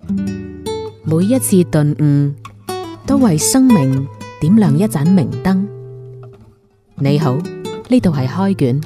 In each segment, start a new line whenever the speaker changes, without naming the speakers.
每一次頓悟，都為生命點亮一盞明燈。你好，呢度係開卷。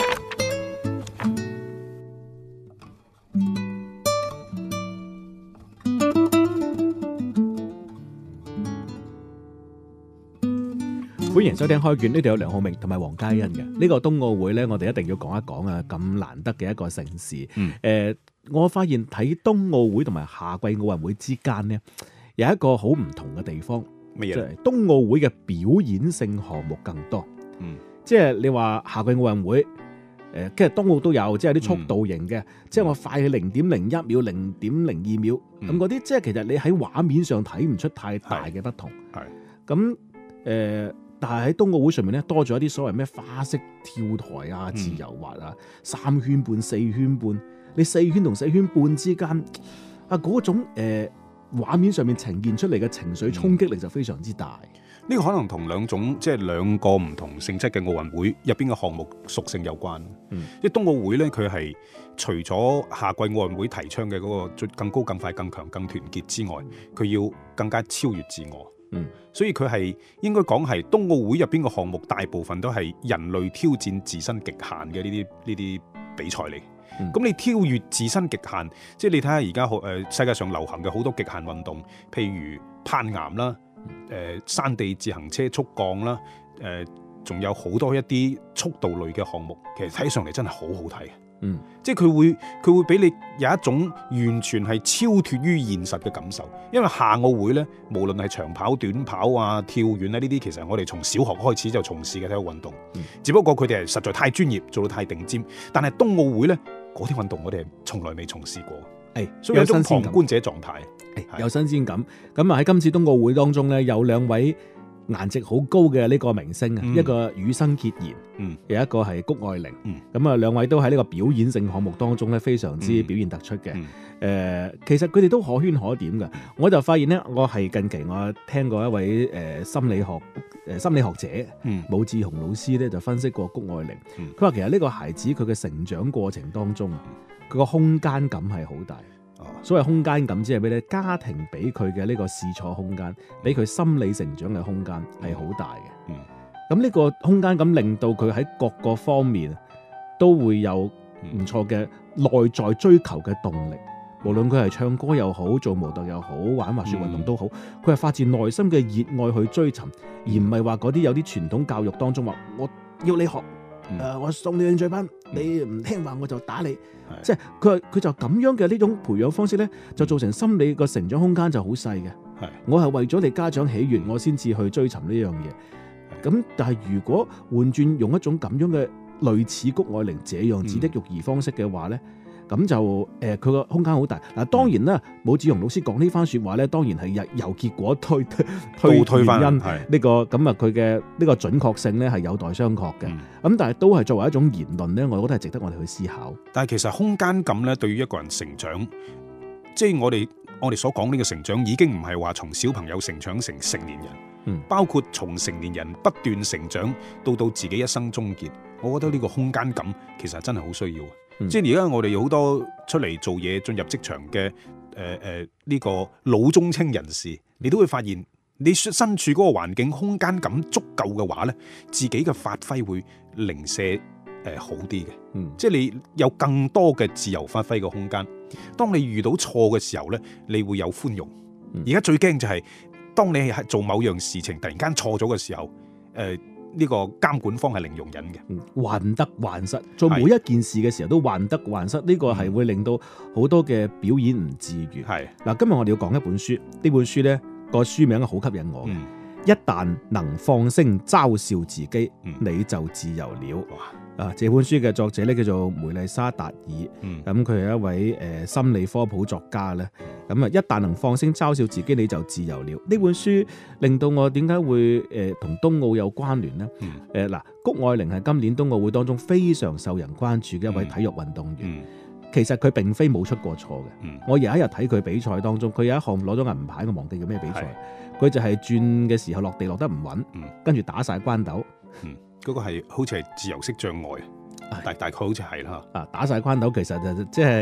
歡迎收聽開卷，呢度有梁浩明同埋黃嘉欣嘅。呢個冬奧會呢，我哋一定要講一講啊！咁難得嘅一個盛事。我發現睇冬奧會同埋夏季奧運會之間呢，有一個好唔同嘅地方。
乜嘢？
就係冬奧會嘅表演性項目更多。即係你話夏季奧運會，其實冬奧都有，即係啲速度型嘅，即係我快去0.01秒、0.02秒咁嗰啲，即係其實你喺畫面上睇唔出太大嘅不同。係咁但係喺冬奧會上面咧，多咗一啲所謂咩花式跳台啊、自由滑啊、3圈半、4圈半，你4圈同4圈半之間啊，嗰種畫面上面呈現出嚟嘅情緒衝擊力就非常之大。
呢個可能同兩個唔同性質嘅奧運會入邊嘅項目屬性有關。因為冬奧會咧，佢係除咗夏季奧運會提倡嘅嗰個更高、更快、更強、更團結之外，佢要更加超越自我。所以佢係應該講係冬奧會入邊嘅項目，大部分都係人類挑戰自身極限嘅呢啲比賽嚟。咁你超越自身極限，即係你睇下而家世界上流行嘅好多極限運動，譬如攀岩啦、山地自行車速降啦，仲有好多一啲速度類嘅項目，其實睇上嚟真係好好睇。即係佢會俾你有一種完全係超脫於現實嘅感受。因為夏奧會咧，無論係長跑、短跑啊、跳遠咧，呢啲其實我哋從小學開始就從事嘅體育運動，只不過佢哋係實在太專業，做到太頂尖。但係冬奧會咧，嗰啲運動我哋係從來未從事過，所以有一種旁觀者狀態，
有新鮮感。咁啊喺今次冬奧會當中咧，有兩位顏值好高嘅呢個明星啊，一個羽生結弦，有一個係谷愛凌。咁啊，兩位都喺呢個表演性項目當中咧，非常之表現突出嘅。其實佢哋都可圈可點嘅。我就發現咧，我係近期我聽過一位心理學者武志紅老師咧，就分析過谷愛凌。佢話其實呢個孩子佢嘅成長過程當中，佢個空間感係好大。所謂空間感，即係咩咧？家庭俾佢嘅呢個試錯空間，俾佢心理成長嘅空間係好大嘅。咁呢個空間感令到佢喺各個方面都會有唔錯嘅內在追求嘅動力。無論佢係唱歌又好，做模特又好，玩滑雪運動都好，佢係發自內心嘅熱愛去追尋，而唔係話嗰啲有啲傳統教育當中話我要你學。我送你興趣班，你唔聽話我就打你。即係佢就咁樣嘅呢種培養方式咧，就造成心理個成長空間就好細嘅。我係為咗你家長喜悅，我先至去追尋呢樣嘢。咁但係如果換轉用一種咁樣嘅類似谷愛凌這樣子的育兒方式嘅話咧，咁就佢個空間好大。嗱，當然啦，武志紅老師講呢番說話咧，當然係由結果推翻原因呢個咁啊，佢嘅呢個準確性咧係有待商榷嘅。咁但係都係作為一種言論咧，我覺得係值得我哋去思考。
但係其實空間感咧，對於一個人成長，即係我哋所講呢個成長，已經唔係話從小朋友成長成成年人，包括從成年人不斷成長到自己一生終結。我覺得呢個空間感其實真係好需要。即係而家我哋有好多出嚟做嘢、進入職場嘅呢個老中青人士，你都會發現，你身處嗰個環境空間感足夠嘅話咧，自己嘅發揮會零舍好啲嘅。即係你有更多嘅自由發揮嘅空間。當你遇到錯嘅時候咧，你會有寬容。而家最驚就係當你係做某樣事情突然間錯咗嘅時候，呢個監管方係零容忍嘅，
患得患失，做每一件事嘅時候都患得患失，呢個係會令到好多嘅表演唔自如。嗱，今日我哋要講一本書，呢本書呢個書名好吸引我嘅。一旦能放聲嘲笑自己，你就自由了。這本書嘅作者咧叫做梅麗莎達爾，咁佢係一位心理科普作家咧。咁啊，一旦能放聲嘲笑自己，你就自由了。呢本書令到我點解會同冬奧有關聯呢？谷愛凌係今年冬奧會當中非常受人關注嘅一位體育運動員。其實佢並非冇出過錯嘅。我有一日睇佢比賽當中，佢有一項攞咗銀牌，我忘記叫咩比賽。佢就係轉嘅時候落地落得唔穩，跟住打晒關斗。
嗰個係好似係自由式障礙，大概好似係啦。
打晒關斗其實就即係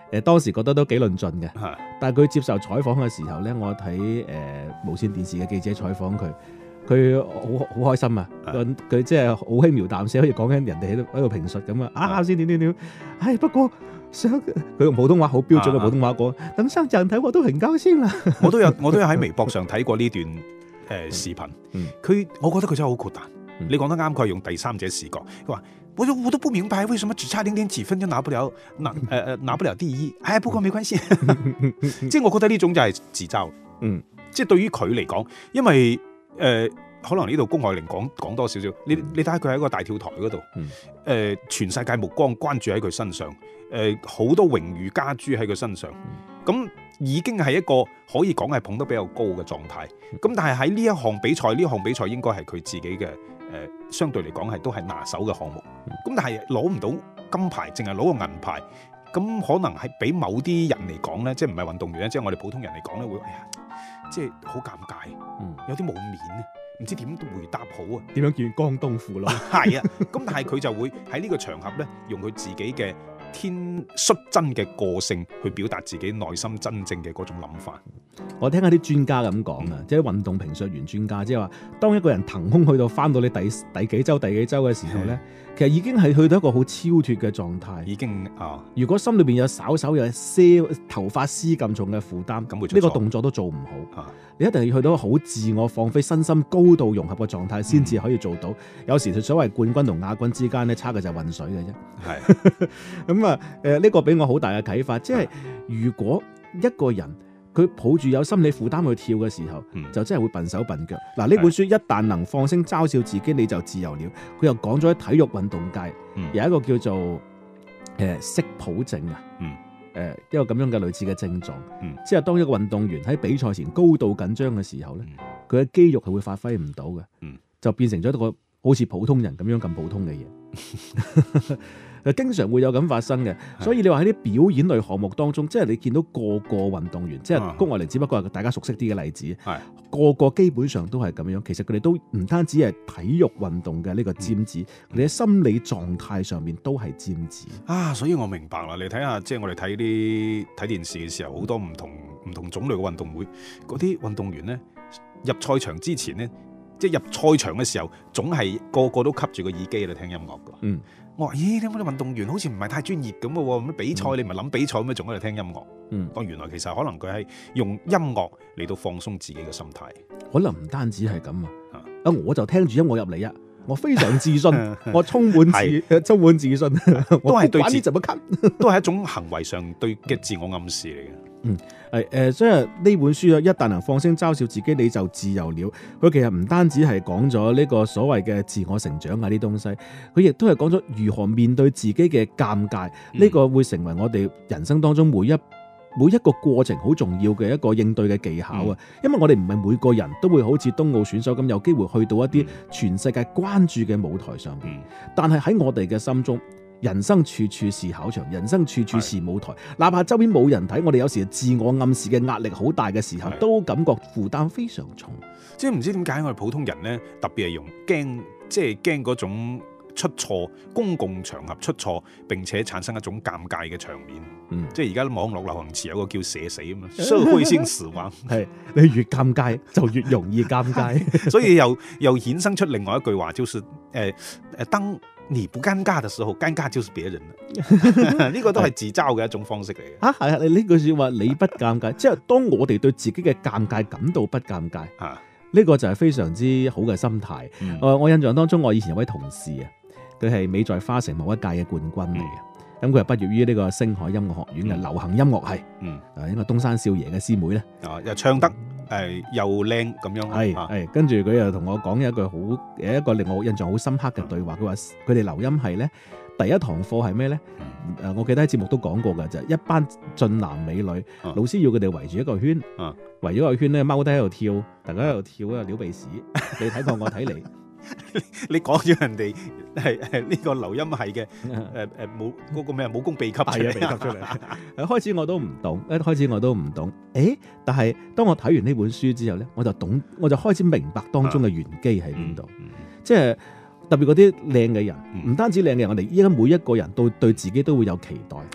當時覺得都幾論盡嘅。但係佢接受採訪嘅時候咧，我睇無線電視嘅記者採訪佢好開心啊！佢即係好輕描淡寫，好似講緊人哋喺度評述咁啊！先點，不過佢用普通話好標準嘅普通話講，等上獎睇我都很高興啦。
我都有喺微博上睇過呢段視頻，我覺得佢真係好豁達。你講得啱，佢係用第三者視角，佢話我都不明白為什麼只差0.幾分就拿不了第一，不過沒關係。即係我覺得呢種就係自嘲。即係對於佢嚟講，因為可能呢度谷愛凌講多少少，你睇下佢喺個大跳台嗰度，全世界目光關注喺佢身上，好多榮譽加諸喺佢身上，咁已經係一個可以講係捧得比較高嘅狀態。咁但係喺呢一項比賽應該係佢自己嘅相對嚟講係都係拿手嘅項目。咁但係攞唔到金牌，淨係攞個銀牌，咁可能係俾某啲人嚟講咧，即係唔係運動員咧，即係我哋普通人嚟講咧，會即係好尷尬，有啲冇面啊，唔知點回答好啊，
點樣叫江東父老？
係啊，咁但係佢就會喺呢個場合咧，用佢自己嘅率真嘅個性去表達自己內心真正嘅嗰種諗法。
我聽下啲專家咁講啊，即係運動評述員專家，即係話當一個人騰空去到翻到你第幾週嘅時候咧，其實已經係去到一個好超脫嘅狀態。
已經
如果心裏邊有稍有些頭髮絲咁重嘅負擔，呢個動作都做唔好。你一定要去到好自我放飛、身心高度融合嘅狀態，先至可以做到。有時所謂冠軍同亞軍之間咧，差嘅就係混水嘅啫。係咁呢個俾我好大嘅啟發，即係如果一個人佢抱住有心理負擔去跳嘅時候，就真係會笨手笨腳。嗱，呢本書一旦能放聲嘲笑自己，你就自由了。佢又講咗喺體育運動界有一個叫做色譜症啊，一個咁樣嘅類似嘅症狀，即係當一個運動員喺比賽前高度緊張嘅時候咧，佢嘅肌肉係會發揮唔到嘅，就變成咗一個好似普通人咁樣咁普通嘅嘢。經常會有咁發生嘅，所以你話喺啲表演類項目當中，即係你見到個運動員，即係谷愛凌只不過係大家熟悉啲嘅例子，個基本上都係咁樣。其實佢哋都唔單止係體育運動嘅呢個尖子，佢哋喺心理狀態上面都係尖子啊！
所以我明白啦，你睇下，即係我哋睇電視嘅時候，好多唔同種類嘅運動會，嗰啲運動員咧入賽場之前咧，即係入賽場嘅時候，總係個個都吸住個耳機嚟聽音樂㗎。我話：咦，點解啲運動員好似唔係太專業咁嘅喎？咁比賽你唔係諗比賽咩？仲喺度聽音樂？當原來其實可能佢係用音樂嚟到放鬆自己嘅心態。可能唔單止係咁啊！我就聽住音樂入嚟啊！我非常自信，我充滿自信，都係對自都係一種行為上對嘅自我暗示嚟嘅。所以呢本書一旦能放聲嘲笑自己，你就自由了。佢其實唔單止係講咗呢個所謂嘅自我成長啊啲東西，佢亦都係講咗如何面對自己嘅尷尬。呢個會成為我哋人生當中每一個過程好重要嘅一個應對嘅技巧啊。因為我哋唔係每個人都會好似冬奧選手咁有機會去到一啲全世界關注嘅舞台上邊，但係喺我哋嘅心中，人生處處是考場，人生處處是舞台。哪怕周邊冇人睇，我哋有時自我暗示嘅壓力好大嘅時候，都感覺負擔非常重。即係唔知點解我哋普通人呢，特別係用驚嗰種出錯，公共場合出錯，並且產生一種尷尬嘅場面。即係而家網絡流行詞有個叫社死啊嘛，社會性死亡。係你越尷尬就越容易尷尬，所以又衍生出另外一句話，就是當你不尷尬的時候，尷尬就是別人啦。呢個都係自嘲嘅一種方式嚟嘅。係啊，你呢句說話你不尷尬，即係當我哋對自己嘅尷尬感到不尷尬，呢個就係非常之好嘅心態。我印象當中，我以前有位同事啊，佢係美在花城某一屆嘅冠軍嚟嘅。咁佢係畢業於呢個星海音樂學院嘅流行音樂系，應該東山少爺嘅師妹咧，又唱得又靚咁樣，係跟住佢又同我講一個令我印象好深刻嘅對話。佢話佢哋流音系咧第一堂課係咩咧？我記得喺節目都講過㗎，就係一班俊男美女，老師要佢哋圍住一個圈，圍咗個圈咧踎低喺度跳，大家喺度跳啊，撩鼻屎，你睇過我睇你。你講咗人哋係呢個流音系嘅冇嗰個咩武功秘笈出嚟，開始我都唔懂，但係當我睇完呢本書之後咧，我就開始明白當中嘅玄機喺邊度。即係特別嗰啲靚嘅人，唔單止靚嘅人，我哋依家每一個人都對自己都會有期待。係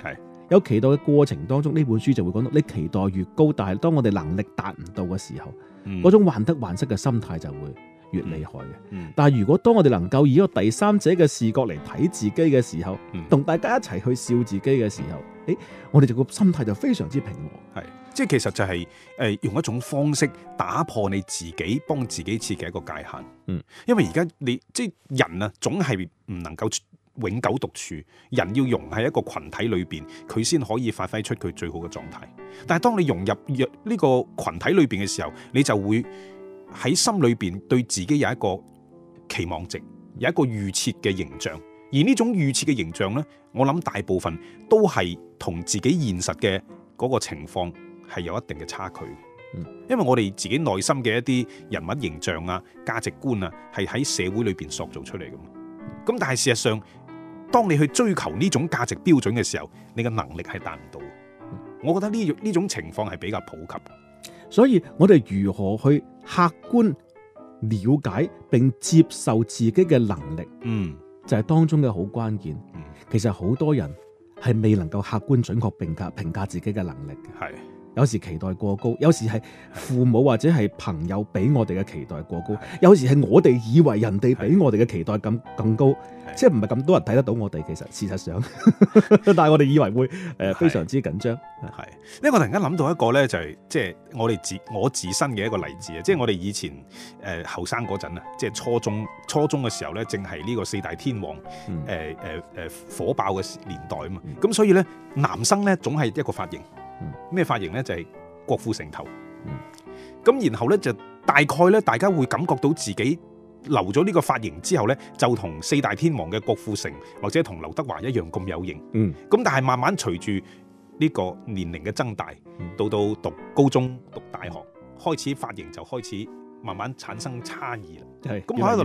有期待嘅過程當中，呢本書就會講到，你期待越高，但係當我哋能力達唔到嘅時候，嗰種患得患失嘅心態就會越厲害嘅。但係如果當我哋能夠以一個第三者嘅視角嚟睇自己嘅時候，同大家一齊去笑自己嘅時候，我哋就個心態就非常之平和。
係，即係其實就係用一種方式打破你自己幫自己設嘅一個界限。因為而家你即係人啊，總係唔能夠永久獨處，人要融喺一個群體裏邊，佢先可以發揮出佢最好嘅狀態。但係當你融入呢個群體裏邊嘅時候，你就會喺心裏邊對自己有一個期望值，有一個預設嘅形象。而呢種預設嘅形象呢，我諗大部分都係同自己現實嘅嗰個情況係有一定嘅差距。因為我哋自己內心嘅一啲人物形象啊、價值觀啊，係喺社會裏邊塑造出嚟噶嘛。咁但係事實上，當你去追求呢種價值標準嘅時候，你嘅能力係達唔到。我覺得呢種情況係比較普及。
所以我哋如何去客觀了解並接受自己嘅能力，就係當中嘅好關鍵。其實好多人係未能夠客觀準確評價自己嘅能力嘅。係。有時期待過高，有時係父母或者係朋友俾我哋嘅期待過高，有時係我哋以為人哋俾我哋嘅期待更高，即係唔係咁多人睇得到我哋。其實事實上，但係我哋以為會非常之緊張。係，
呢個突然間諗到一個咧，就係即係我自身嘅一個例子啊！即係我哋以前後生嗰陣啊，即係初中嘅時候咧，正係呢個四大天王火爆嘅年代啊嘛。咁所以咧，男生咧總係一個髮型。咩髮型咧？就係郭富城頭。咁然後咧就大概咧，大家會感覺到自己留咗呢個髮型之後咧，就同四大天王嘅郭富城或者同劉德華一樣咁有型。咁但係慢慢隨住呢個年齡嘅增大，到讀高中、讀大學，開始髮型就開始慢慢產生差異啦。咁我喺度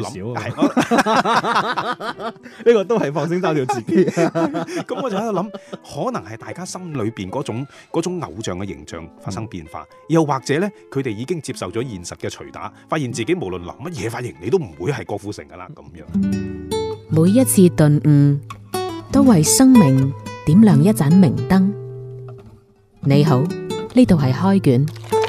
諗，
呢個都係放聲嘲笑自己。
咁我就喺度諗，可能係大家心裏邊嗰種偶像嘅形象發生變化，又或者咧，佢哋已經接受咗現實嘅捶打，發現自己無論留乜嘢髮型，你都唔會係郭富城噶啦咁樣。
每一次頓悟，都為生命點亮一盞明燈。你好，呢度係開卷。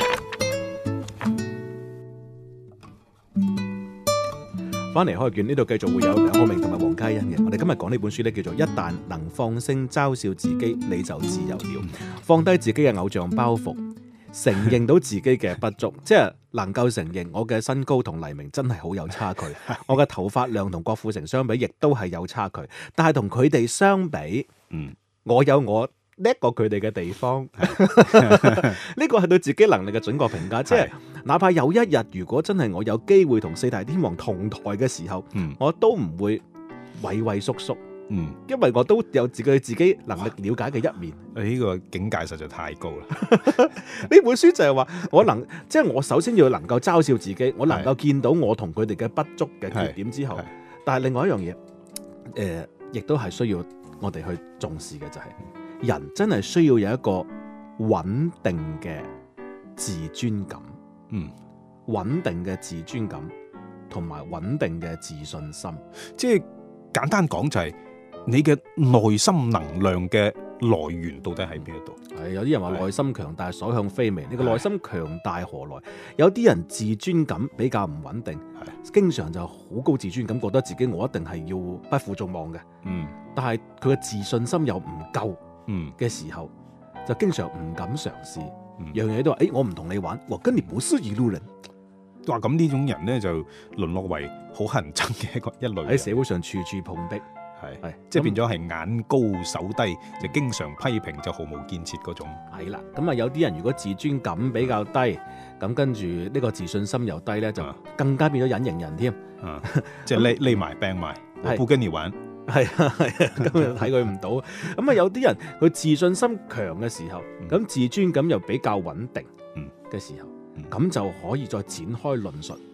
翻嚟開卷，呢度繼續會有梁浩明同埋黃嘉欣嘅。我哋今日講呢本書呢，叫做《一旦能放聲嘲笑自己，你就自由了》。放低自己嘅偶像包袱，承認到自己嘅不足，即係能夠承認我嘅身高同黎明真係好有差距，我嘅頭髮量同郭富城相比亦都係有差距。但係同佢哋相比，我有我叻過佢哋嘅地方。呢個係對自己能力嘅準確評價，即係哪怕有一日如果真係我有機會同四大天王同台嘅時候，我都唔會畏畏縮縮，因為我都有自己能力了解嘅一面。
呢個境界實在太高啦！
呢本書就係話即係我首先要能夠嘲笑自己，我能夠見到我同佢哋嘅不足嘅缺點之後，但係另外一樣嘢，亦都係需要我哋去重視嘅，就係人真係需要有一個穩定嘅自尊感。穩定嘅自尊感同埋穩定嘅自信心，
即係簡單講就係你嘅內心能量嘅來源到底喺邊一度？
係有啲人話內心強大所向非微，你個內心強大何來？有啲人自尊感比較唔穩定，經常就好高自尊感，覺得自己我一定係要不負眾望嘅。但係佢嘅自信心又唔夠嘅時候，就經常唔敢嘗試。樣樣嘢都話，我唔同你玩，我跟你不是一路人。
話咁呢種人咧就淪落為好乞人憎嘅一類，
喺社會上處處碰壁，
係即係變咗係眼高手低，就經常批評，就毫無建設嗰種。
係啦，咁啊有啲人如果自尊感比較低，咁跟住呢個自信心又低咧，就更加變咗隱形人添。
即係匿埋病埋，我不跟你玩。
係啊，咁就睇佢唔到。咁啊有啲人佢自信心強嘅時候，咁自尊感又比較穩定嘅時候，咁就可以再展開論述，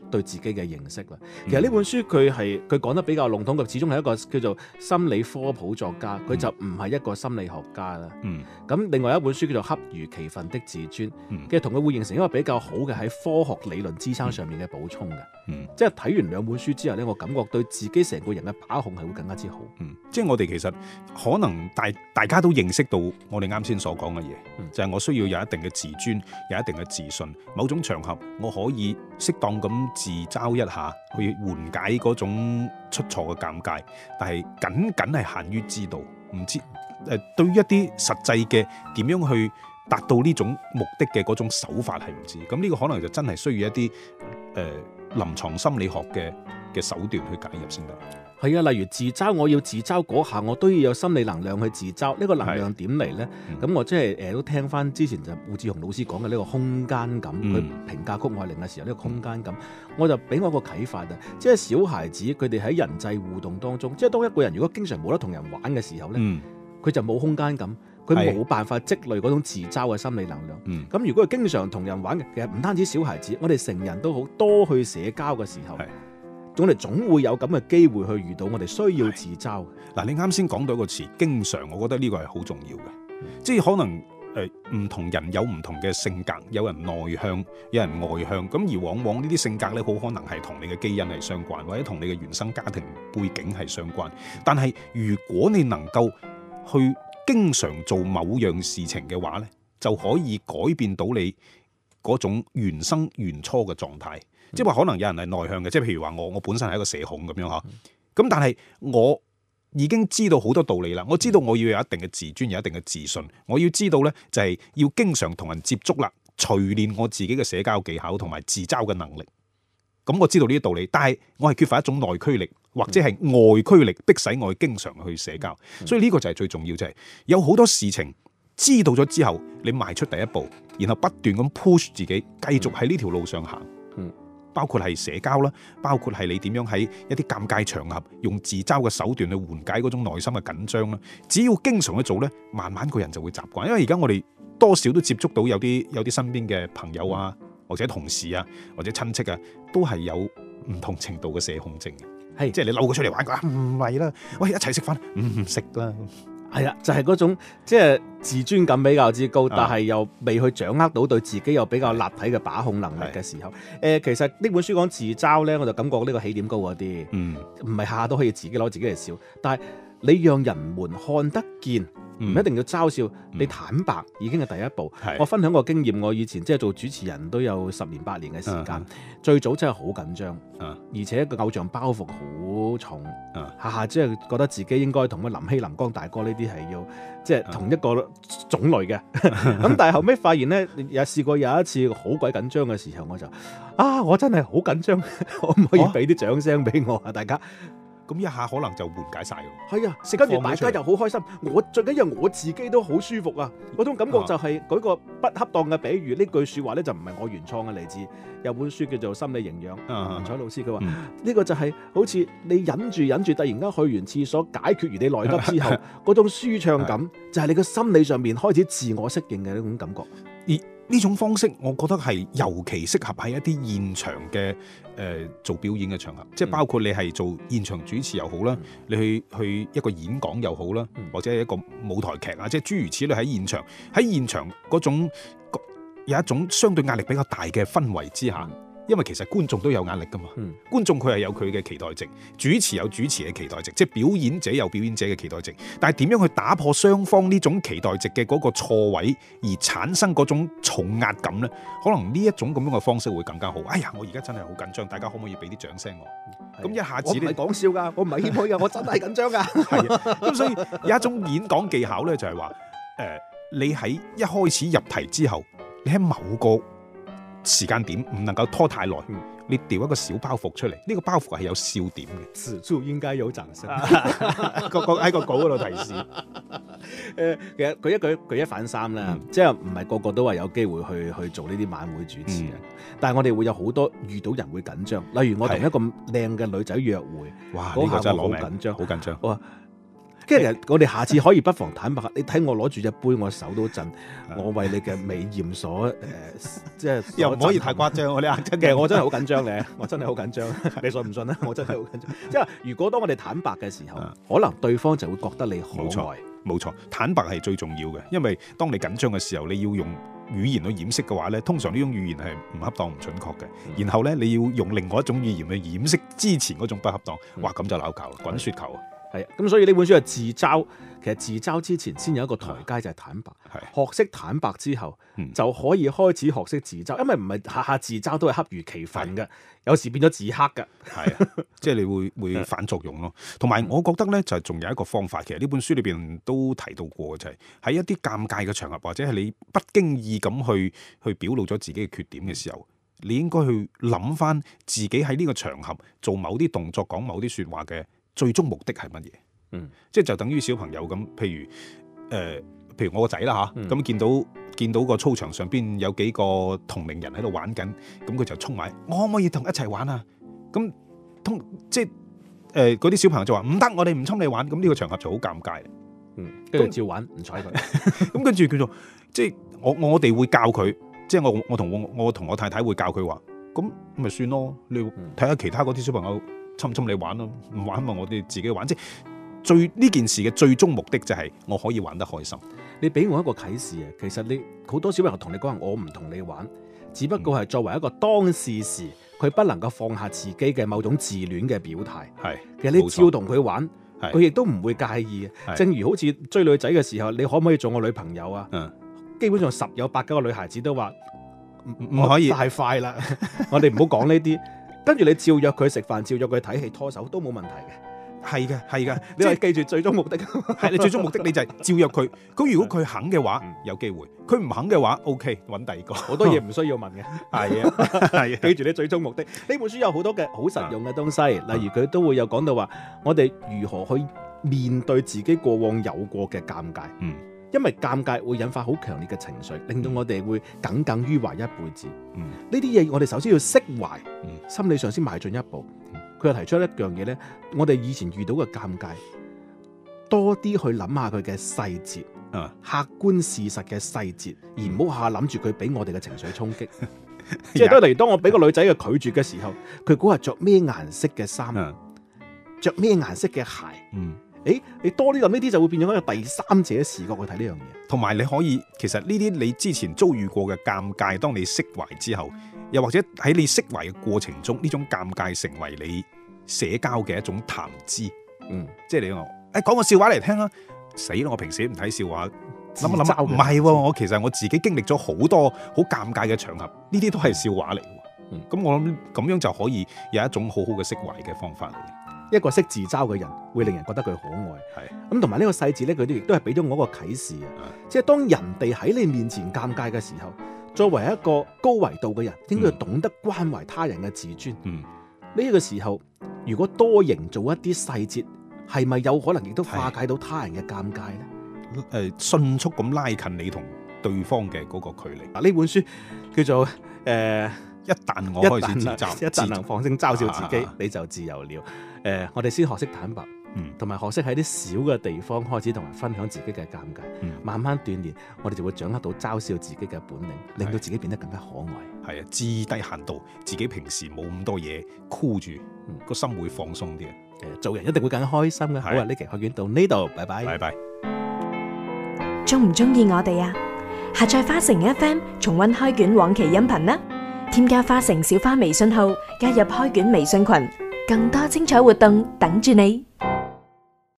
對自己嘅認識啦。其實呢本書佢講得比較籠統，佢始終係一個叫做心理科普作家，佢就唔係一個心理學家啦。咁另外一本書叫做《恰如其分的自尊》，其實同佢會形成一個比較好嘅喺科學理論支撐上面嘅補充嘅。即係睇完兩本書之後呢，我感覺對自己成個人嘅把控係會更加之好。
即係我哋其實可能大家都認識到我哋啱先所講嘅嘢，就係我需要有一定嘅自尊，有一定嘅自信。某種場合我可以適當咁自嘲一下，去緩解嗰種出錯嘅尷尬，但係僅係限於知道，唔知對於一啲實際嘅點樣去達到呢種目的嘅嗰種手法係唔知。咁呢個可能就真係需要一啲臨床心理學嘅手段去介入先得。
係啊，例如自嘲，我要自嘲嗰下，我都要有心理能量去自嘲。呢個能量點嚟呢？咁我即係都聽翻之前就胡志雄老師講嘅呢個空間感，佢評價谷愛凌嘅時候呢個空間感，我就俾我一個啟發啊！即係小孩子佢哋喺人際互動當中，即係當一個人如果經常冇得同人玩嘅時候呢，佢就冇空間感，佢冇辦法積累嗰種自嘲嘅心理能量。咁如果佢經常同人玩嘅，其實唔單止小孩子，我哋成人都好多去社交嘅時候。我哋總會有咁嘅機會去遇到我哋需要自嘲。
嗱，你啱先講到一個詞，經常，我覺得呢個係好重要嘅。即係可能唔同人有唔同嘅性格，有人內向，有人外向。咁而往往呢啲性格咧，好可能係同你嘅基因係相關，或者同你嘅原生家庭背景係相關。但係如果你能夠去經常做某樣事情嘅話咧，就可以改變到你嗰種原生原初嘅狀態。即係話可能有人係內向嘅，即係譬如話我本身係一個社恐咁樣嚇，咁但係我已經知道好多道理啦，我知道我要有一定嘅自尊，有一定嘅自信，我要知道咧就係要經常同人接觸啦，錘煉我自己嘅社交技巧同埋自嘲嘅能力。咁我知道呢啲道理，但係我係缺乏一種內驅力或者係外驅力，迫使我經常去社交。所以呢個就係最重要，就係有好多事情知道咗之後，你邁出第一步，然後不斷咁 push 自己，繼續喺呢條路上行。包括係社交啦，包括係你點樣喺一啲尷尬場合用自嘲嘅手段去緩解嗰種內心嘅緊張啦。只要經常去做咧，慢慢個人就會習慣。因為而家我哋多少都接觸到有啲身邊嘅朋友啊，或者同事啊，或者親戚啊，都係有唔同程度嘅社恐症嘅。係，即係你嬲佢出嚟玩，佢話唔係啦，喂，一齊食飯唔食啦。
係啊，就係嗰種即係自尊感比較之高，但係又未去掌握到對自己有比較立體嘅把控能力嘅時候。其實呢本書講自嘲咧，我就感覺呢個起點高嗰啲，唔係下下都可以自己攞自己嚟笑，但係你讓人們看得見。唔一定要嘲笑，你坦白已經係第一步。我分享個經驗，我以前即係做主持人都有10年8年嘅時間，最早真係好緊張，而且個偶像包袱好重，下下即係覺得自己應該同林希、林光大哥呢啲係要即係同一個種類嘅。咁但係後尾發現呢，有試過有一次好鬼緊張嘅時候，我就我真係好緊張，可唔可以俾啲掌聲俾我啊？大家。
咁一下可能就緩解晒㗎。
係啊，跟住大家又好開心。最緊要我自己都好舒服啊！嗰種感覺就係舉個不恰當嘅比喻，呢句説話咧就唔係我原創嘅，嚟自有本書叫做《心理營養》，文采老師佢話呢個就係好似你忍住，突然間去完廁所解決完你內急之後嗰種舒暢感，就係你個心理上面開始自我適應嘅呢種感覺。
呢種方式，我覺得係尤其適合喺一啲現場嘅做表演嘅場合，即係包括你係做現場主持又好啦，你去一個演講又好啦，或者係一個舞台劇啊，即係諸如此類喺現場嗰種有一種相對壓力比較大嘅氛圍之下。因為其實觀眾都有壓力噶嘛，觀眾佢係有佢嘅期待值，主持有主持嘅期待值，即係表演者有表演者嘅期待值。但係點樣去打破雙方呢種期待值嘅嗰個錯位，而產生嗰種重壓感呢？可能呢一種咁樣嘅方式會更加好。哎呀，我而家真係好緊張，大家可唔可以俾啲掌聲我？咁一下子
我唔係講笑㗎，我唔係謙虛㗎，我真係緊張㗎。
係啊，咁所以有一種演講技巧呢，就係話你喺一開始入題之後，你喺某個時間點唔能夠拖太耐，你掉一個小包袱出嚟，呢個包袱係有笑點嘅。
此處應該有掌聲。
喺個稿嗰度提示。
其實舉一反三啦，即係唔係個個都話有機會去做呢啲晚會主持嘅，但係我哋會有好多遇到人會緊張，例如我同一個靚嘅女仔約會，
哇！呢個真係攞命，
好緊張，
好緊張。
跟住我哋下次可以不妨坦白，你睇我攞住隻杯，我手都震，我為你嘅美豔所即係
又唔可以太誇張，我哋
其實我真係好緊張咧，我真係好緊張，你信唔信咧？我真係好緊張。即係如果當我哋坦白嘅時候，可能對方就會覺得你可愛。
冇錯，坦白係最重要嘅，因為當你緊張嘅時候，你要用語言去掩飾嘅話咧，通常呢種語言係唔恰當、唔準確嘅。然後咧，你要用另外一種語言去掩飾之前嗰種不恰當，哇，咁就鬧交啦，滾雪球啊！
係啊，咁所以呢本書係自嘲，其實自嘲之前先有一個台階就係坦白，學識坦白之後，就可以開始學識自嘲，因為唔係下下自嘲都係恰如其分嘅，有時變咗自黑嘅，
係啊，即係你會反作用咯。同埋我覺得咧，就係仲有一個方法，其實呢本書裏邊都提到過嘅，就係喺一啲尷尬嘅場合，或者係你不經意咁去表露咗自己嘅缺點嘅時候，你應該去諗翻自己喺呢個場合做某啲動作、講某啲説話嘅最終目的係乜嘢？即係就等於小朋友咁，譬如我個仔啦嚇，咁見到個操場上邊有幾個同齡人喺度玩緊，咁佢就衝埋，我可唔可以同一齊玩啊？咁即係嗰啲小朋友就話唔得，我哋唔侵你玩，咁呢個場合就好尷尬。
跟住照玩，唔睬佢。
咁跟住叫做即係我哋會教佢，即係我同我太太會教佢話，咁咪算咯，你睇下其他嗰啲小朋友侵你玩咯，唔玩咪我哋自己玩。即係呢件事嘅最終目的就係我可以玩得開心。
你俾我一個啟示啊，其實你好多小朋友同你講話，我唔同你玩，只不過係作為一個當事時，佢不能夠放下自己嘅某種自戀嘅表態。係，其實你照同佢玩，佢亦都唔會介意。正如好似追女仔嘅時候，你可唔可以做我女朋友啊？基本上10有8個女孩子都話唔可以，太快啦。我哋唔好講呢啲。跟住你照約佢食飯，照約佢睇戲，拖手都冇問題嘅。係嘅，你係記住最終目的。
係你最終目的，你就係照約佢。佢如果佢肯嘅話，有機會；佢唔肯嘅話，OK，揾第二個。
好多嘢唔需要問嘅。係啊，記住你最終目的。呢本書有好多嘅好實用嘅東西，例如佢都會有講到話，我哋如何去面對自己過往有過嘅尷尬。因為尷尬會引發好強烈嘅情緒，令到我哋會耿耿於懷一輩子。呢啲嘢我哋首先要釋懷，心理上先邁進一步。佢又提出一樣嘢咧，我哋以前遇到嘅尷尬，多啲去諗下佢嘅細節，客觀事實嘅細節，而唔好下諗住佢俾我哋嘅情緒衝擊。即係例如當我俾個女仔嘅拒絕嘅時候，佢估係着咩顏色嘅衫，着咩顏色嘅鞋。你多啲諗呢啲，就會變咗一個第三者視角去睇呢樣嘢。同埋你可以，其實呢啲你之前遭遇過嘅尷尬，當你釋懷之後，又或者喺你釋懷嘅過程中，呢種尷尬成為你社交嘅一種談資。即係你話，講個笑話嚟聽啦。死啦！我平時唔睇笑話，諗一諗，唔係喎，我其實我自己經歷咗好多好尷尬嘅場合，呢啲都係笑話嚟。咁我諗咁樣就可以有一種好好嘅釋懷嘅方法。一個識自嘲嘅人會令人覺得佢可愛，咁同埋呢個細節咧，佢哋亦都係俾咗我一個啟示啊！即係當人哋喺你面前尷尬嘅時候，作為一個高維度嘅人，應該要懂得關懷他人嘅自尊。呢個時候，如果多營造一啲細節，係咪有可能亦都化解到他人嘅尷尬咧？迅速咁拉近你同對方嘅嗰個距離。呢本書叫做一旦我開始自嘲，一旦能放聲嘲笑自己，你就自由了。我哋先學識坦白，同埋學識喺啲小嘅地方開始同人分享自己嘅尷尬，慢慢鍛鍊，我哋就會掌握到嘲笑自己嘅本領，令到自己變得更加可愛。係啊，至低限度，自己平時冇咁多嘢箍住，個心會放鬆啲。做人一定會更加開心嘅。好啊，呢期開卷到呢度，拜拜。拜拜。
中唔中意我哋啊？下載花城 FM 重溫開卷往期音頻啦！添加花城小花微信號，加入開卷微信群，更多精彩活動等住你。